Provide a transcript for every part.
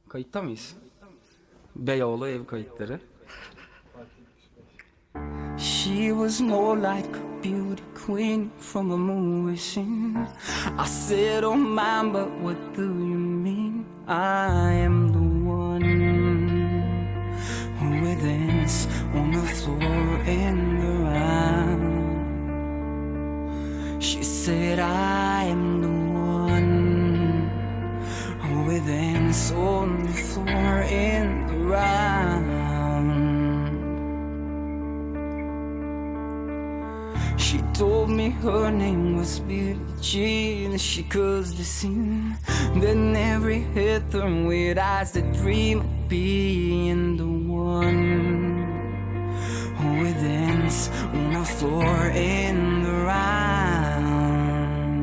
Kayıtta mıyız? Beyoğlu ev kayıtları. She was more like a beauty queen from a movie scene. I said, oh mine, but what do you mean? I am the one who would dance on the floor in the round. She said, I am the one who would dance on the floor in the round. She told me her name was Billie Jean. She caused the scene. Then every head turned with eyes that dream of being the one who would dance on the floor in the round.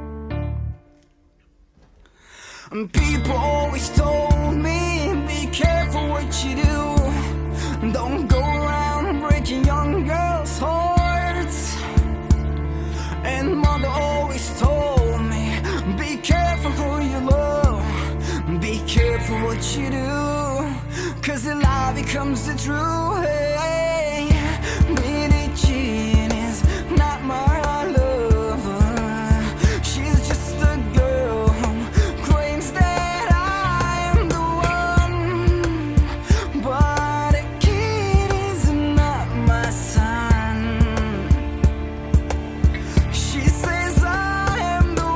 And people always told me, be careful what you do. Don't go around breaking young girls' hearts. And mother always told me, be careful who you love, be careful what you do, cause the lie becomes the truth. Hey, Billie Jean is not my lover. She's just a girl who claims that I am the one, but a kid is not my son. She says I am the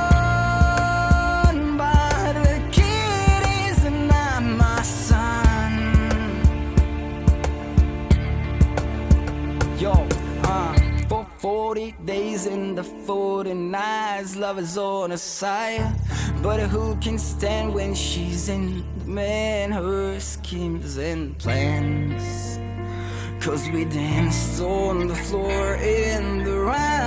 one, but a kid is not my son. Yo, for 40 days in the 40 nights, love is on her side. But who can stand when she's in demand? Her schemes and plans. Cause we danced on the floor in the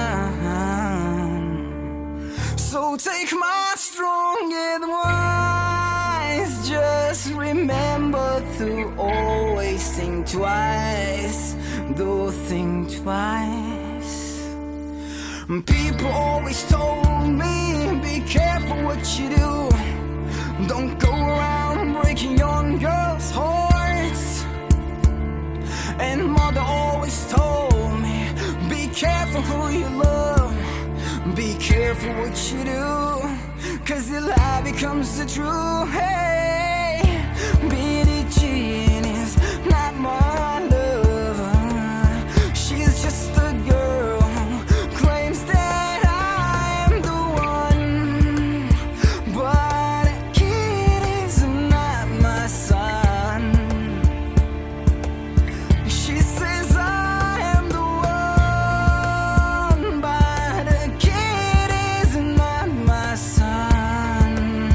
round. So take my strong advice. Just remember to always think twice. Do think twice. People always told me, be careful what you do. Don't go around breaking young girls' hearts. And mother always told me, be careful who you love, be careful what you do, cause the lie becomes the truth. Hey, Billie Jean is not my lover. She's just a girl who claims that I am the one, but a kid is not my son. She says I am the one, but a kid is not my son.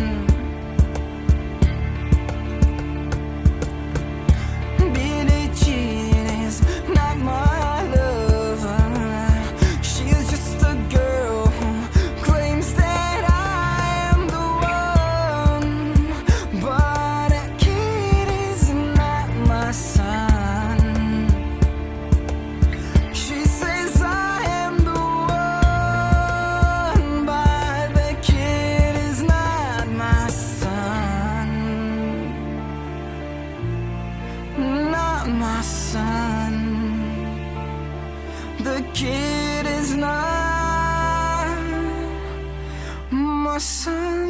Billie Jean is not my lover. She's just a girl who claims that I am the one, but a kid is not my son. She says I am the one, but the kid is not my son. Not my son. The kid is not my son.